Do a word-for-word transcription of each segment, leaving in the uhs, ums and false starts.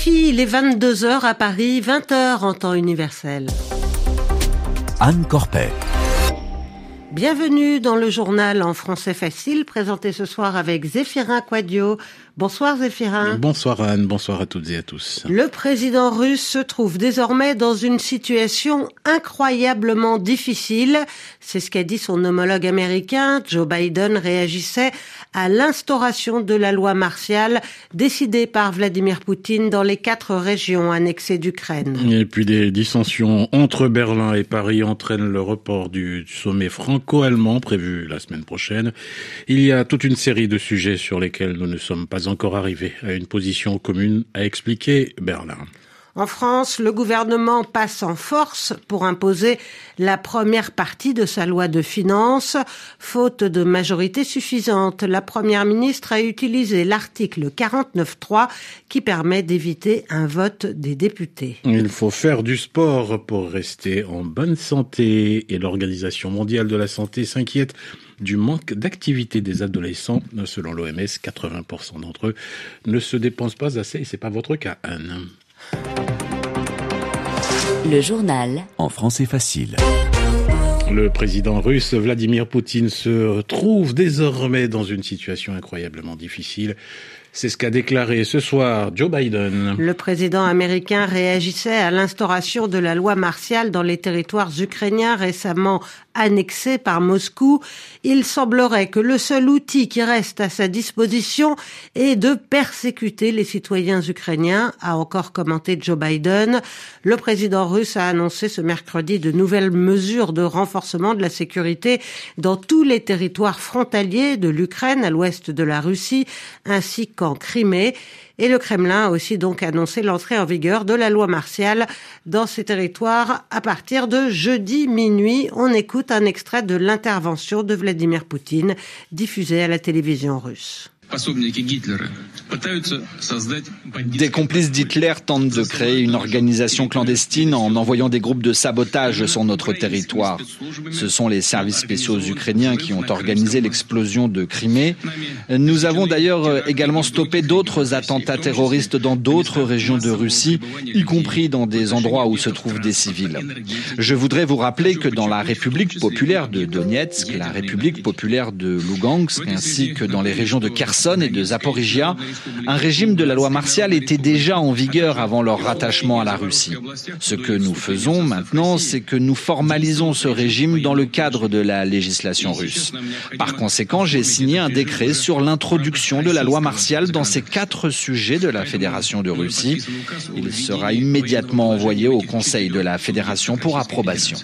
R F I, il est vingt-deux heures à Paris, vingt heures en temps universel. Anne Corpet. Bienvenue dans le journal en français facile, présenté ce soir avec Zéphirin Quadio. Bonsoir Zéphirin. Bonsoir Anne, bonsoir à toutes et à tous. Le président russe se trouve désormais dans une situation incroyablement difficile. C'est ce qu'a dit son homologue américain. Joe Biden réagissait à l'instauration de la loi martiale décidée par Vladimir Poutine dans les quatre régions annexées d'Ukraine. Et puis des dissensions entre Berlin et Paris entraînent le report du sommet franco-allemand prévu la semaine prochaine. Il y a toute une série de sujets sur lesquels nous ne sommes pas encore arrivés à une position commune, a expliqué Berlin. En France, le gouvernement passe en force pour imposer la première partie de sa loi de finances. Faute de majorité suffisante, la première ministre a utilisé l'article quarante-neuf trois qui permet d'éviter un vote des députés. Il faut faire du sport pour rester en bonne santé et l'Organisation mondiale de la santé s'inquiète du manque d'activité des adolescents. Selon l'O M S, quatre-vingts pour cent d'entre eux ne se dépensent pas assez et c'est pas votre cas, Anne. Le journal en français facile. Le président russe Vladimir Poutine se trouve désormais dans une situation incroyablement difficile. C'est ce qu'a déclaré ce soir Joe Biden. Le président américain réagissait à l'instauration de la loi martiale dans les territoires ukrainiens récemment annexés par Moscou. Il semblerait que le seul outil qui reste à sa disposition est de persécuter les citoyens ukrainiens, a encore commenté Joe Biden. Le président russe a annoncé ce mercredi de nouvelles mesures de renforcement de la sécurité dans tous les territoires frontaliers de l'Ukraine à l'ouest de la Russie, ainsi qu'en Crimée. Et le Kremlin a aussi donc annoncé l'entrée en vigueur de la loi martiale dans ces territoires à partir de jeudi minuit. On écoute un extrait de l'intervention de Vladimir Poutine diffusée à la télévision russe. Des complices d'Hitler tentent de créer une organisation clandestine en envoyant des groupes de sabotage sur notre territoire. Ce sont les services spéciaux ukrainiens qui ont organisé l'explosion de Crimée. Nous avons d'ailleurs également stoppé d'autres attentats terroristes dans d'autres régions de Russie, y compris dans des endroits où se trouvent des civils. Je voudrais vous rappeler que dans la République populaire de Donetsk, la République populaire de Lugansk, ainsi que dans les régions de Kherson et de Zaporizhia, un régime de la loi martiale était déjà en vigueur avant leur rattachement à la Russie. Ce que nous faisons maintenant, c'est que nous formalisons ce régime dans le cadre de la législation russe. Par conséquent, j'ai signé un décret sur l'introduction de la loi martiale dans ces quatre sujets de la Fédération de Russie. Il sera immédiatement envoyé au Conseil de la Fédération pour approbation.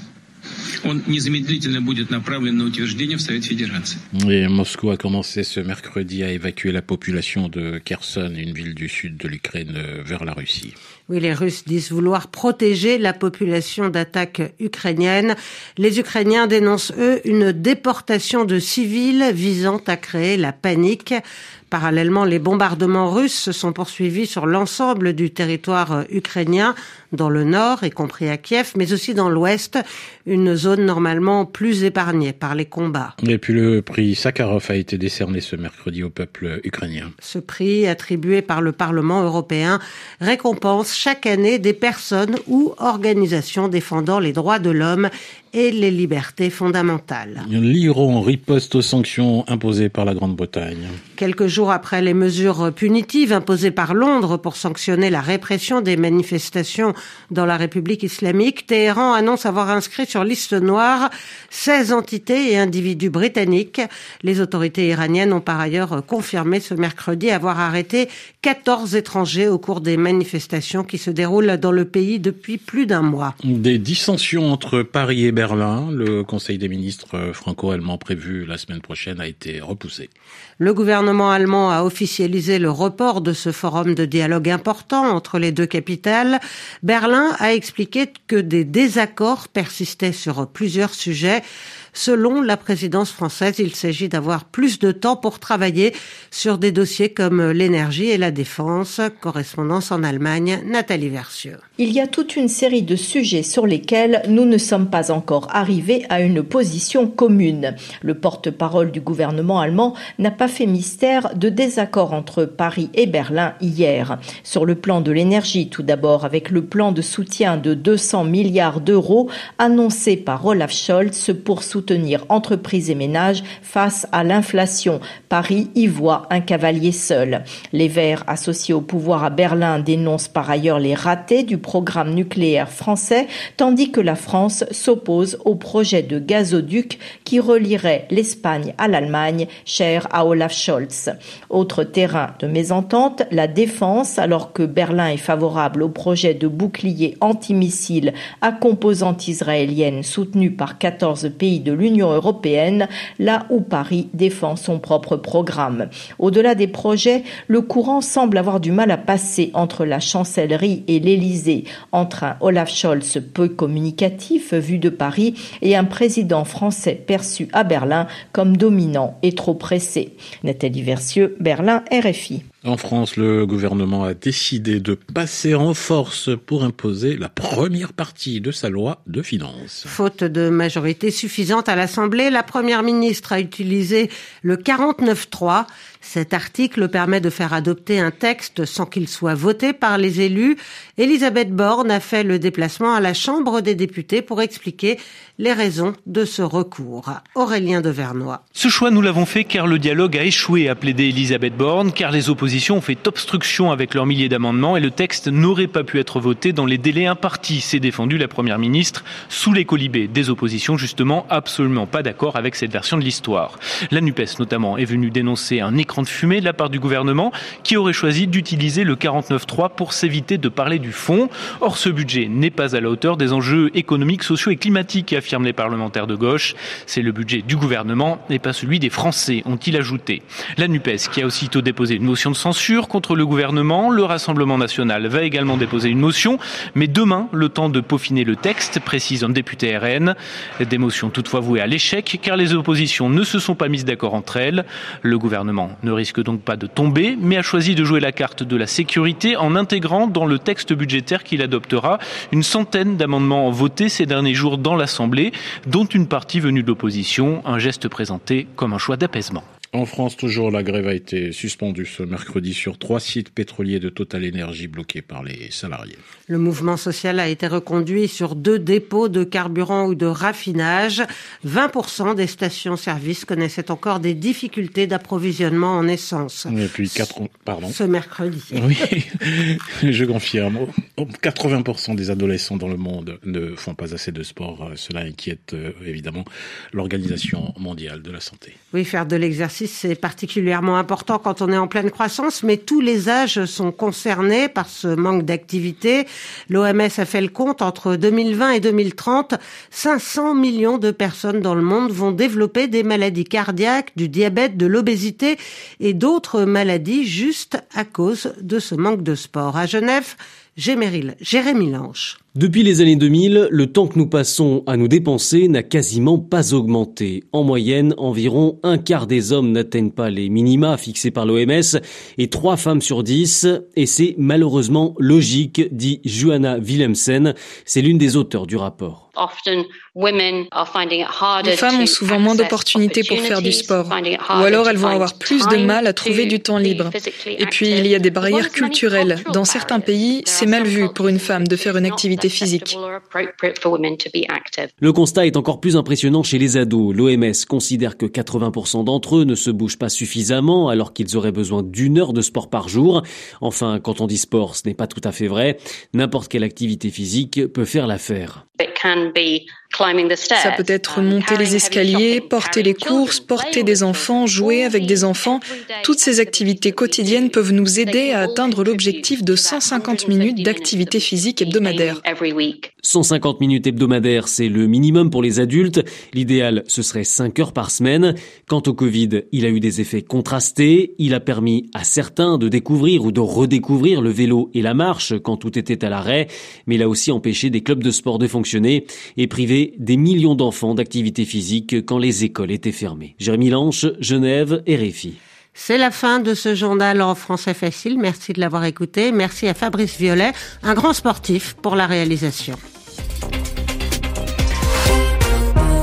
Et Moscou a commencé ce mercredi à évacuer la population de Kherson, une ville du sud de l'Ukraine, vers la Russie. Oui, les Russes disent vouloir protéger la population d'attaques ukrainiennes. Les Ukrainiens dénoncent, eux, une déportation de civils visant à créer la panique. Parallèlement, les bombardements russes se sont poursuivis sur l'ensemble du territoire ukrainien, dans le nord, y compris à Kiev, mais aussi dans l'ouest, une zone normalement plus épargnée par les combats. Et puis le prix Sakharov a été décerné ce mercredi au peuple ukrainien. Ce prix, attribué par le Parlement européen, récompense chaque année des personnes ou organisations défendant les droits de l'homme et les libertés fondamentales. L'Iran riposte aux sanctions imposées par la Grande-Bretagne. Quelques jours après les mesures punitives imposées par Londres pour sanctionner la répression des manifestations dans la République islamique, Téhéran annonce avoir inscrit sur liste noire seize entités et individus britanniques. Les autorités iraniennes ont par ailleurs confirmé ce mercredi avoir arrêté quatorze étrangers au cours des manifestations qui se déroulent dans le pays depuis plus d'un mois. Des dissensions entre Paris et Berlin, le Conseil des ministres franco-allemand prévu la semaine prochaine a été repoussé. Le gouvernement allemand a officialisé le report de ce forum de dialogue important entre les deux capitales. Berlin a expliqué que des désaccords persistaient sur plusieurs sujets. Selon la présidence française, il s'agit d'avoir plus de temps pour travailler sur des dossiers comme l'énergie et la défense. Correspondance en Allemagne, Nathalie Versieux. Il y a toute une série de sujets sur lesquels nous ne sommes pas encore encore arriver à une position commune. Le porte-parole du gouvernement allemand n'a pas fait mystère de désaccord entre Paris et Berlin hier. Sur le plan de l'énergie, tout d'abord, avec le plan de soutien de deux cents milliards d'euros annoncé par Olaf Scholz pour soutenir entreprises et ménages face à l'inflation. Paris y voit un cavalier seul. Les Verts, associés au pouvoir à Berlin, dénoncent par ailleurs les ratés du programme nucléaire français, tandis que la France s'oppose au projet de gazoduc qui relierait l'Espagne à l'Allemagne, cher à Olaf Scholz. Autre terrain de mésentente, la défense, alors que Berlin est favorable au projet de bouclier antimissile à composante israélienne soutenu par quatorze pays de l'Union européenne, là où Paris défend son propre programme. Au-delà des projets, le courant semble avoir du mal à passer entre la chancellerie et l'Élysée, entre un Olaf Scholz peu communicatif vu de Paris et un président français perçu à Berlin comme dominant et trop pressé. Nathalie Versieux, Berlin, R F I. En France, le gouvernement a décidé de passer en force pour imposer la première partie de sa loi de finances. Faute de majorité suffisante à l'Assemblée, la première ministre a utilisé le quarante-neuf trois. Cet article permet de faire adopter un texte sans qu'il soit voté par les élus. Elisabeth Borne a fait le déplacement à la Chambre des députés pour expliquer les raisons de ce recours. Aurélien de Vernois. Ce choix, nous l'avons fait car le dialogue a échoué, a plaidé Elisabeth Borne, car les oppositions ont fait obstruction avec leurs milliers d'amendements et le texte n'aurait pas pu être voté dans les délais impartis, s'est défendue la première ministre, sous les colibés des oppositions, justement absolument pas d'accord avec cette version de l'histoire. La NUPES, notamment, est venue dénoncer un écran de fumée de la part du gouvernement qui aurait choisi d'utiliser le quarante-neuf trois pour s'éviter de parler du fond. Or, ce budget n'est pas à la hauteur des enjeux économiques, sociaux et climatiques, affirment les parlementaires de gauche. C'est le budget du gouvernement et pas celui des Français, ont-ils ajouté. La NUPES, qui a aussitôt déposé une motion de censure contre le gouvernement. Le Rassemblement national va également déposer une motion, mais demain, le temps de peaufiner le texte, précise un député R N. Des motions toutefois vouées à l'échec, car les oppositions ne se sont pas mises d'accord entre elles. Le gouvernement ne risque donc pas de tomber, mais a choisi de jouer la carte de la sécurité en intégrant dans le texte budgétaire qu'il adoptera une centaine d'amendements votés ces derniers jours dans l'Assemblée, dont une partie venue de l'opposition, un geste présenté comme un choix d'apaisement. En France, toujours, la grève a été suspendue ce mercredi sur trois sites pétroliers de Total Energy bloqués par les salariés. Le mouvement social a été reconduit sur deux dépôts de carburant ou de raffinage. vingt pour cent des stations-service connaissaient encore des difficultés d'approvisionnement en essence. Et puis, quatre, pardon. Ce mercredi. Oui, je confirme. quatre-vingts pour cent des adolescents dans le monde ne font pas assez de sport. Cela inquiète évidemment l'Organisation mondiale de la santé. Oui, faire de l'exercice, c'est particulièrement important quand on est en pleine croissance, mais tous les âges sont concernés par ce manque d'activité. L'O M S a fait le compte, entre deux mille vingt et deux mille trente, cinq cents millions de personnes dans le monde vont développer des maladies cardiaques, du diabète, de l'obésité et d'autres maladies juste à cause de ce manque de sport. À Genève, Jérémy Lange. Depuis les années deux mille, le temps que nous passons à nous dépenser n'a quasiment pas augmenté. En moyenne, environ un quart des hommes n'atteignent pas les minima fixés par l'O M S et trois femmes sur dix. Et c'est malheureusement logique, dit Johanna Willemsen. C'est l'une des auteurs du rapport. Les femmes ont souvent moins d'opportunités pour faire du sport, ou alors elles vont avoir plus de mal à trouver du temps libre. Et puis il y a des barrières culturelles. Dans certains pays, c'est mal vu pour une femme de faire une activité physique. Le constat est encore plus impressionnant chez les ados. L'O M S considère que quatre-vingts pour cent d'entre eux ne se bougent pas suffisamment alors qu'ils auraient besoin d'une heure de sport par jour. Enfin, quand on dit sport, ce n'est pas tout à fait vrai. N'importe quelle activité physique peut faire l'affaire. Ça peut être monter les escaliers, porter les courses, porter des enfants, jouer avec des enfants. Toutes ces activités quotidiennes peuvent nous aider à atteindre l'objectif de cent cinquante minutes d'activité physique hebdomadaire. cent cinquante minutes hebdomadaires, c'est le minimum pour les adultes. L'idéal, ce serait cinq heures par semaine. Quant au Covid, il a eu des effets contrastés. Il a permis à certains de découvrir ou de redécouvrir le vélo et la marche quand tout était à l'arrêt. Mais il a aussi empêché des clubs de sport de fonctionner et privé des millions d'enfants d'activité physique quand les écoles étaient fermées. Jérémy Lange, Genève, R F I. C'est la fin de ce journal en français facile. Merci de l'avoir écouté. Merci à Fabrice Violet, un grand sportif, pour la réalisation.